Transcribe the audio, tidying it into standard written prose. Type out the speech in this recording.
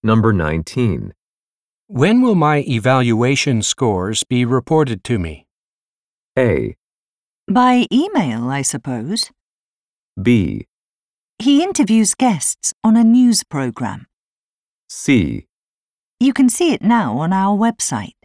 Number 19. When will my evaluation scores be reported to me? A. By email, I suppose. B. He interviews guests on a news program. C. You can see it now on our website.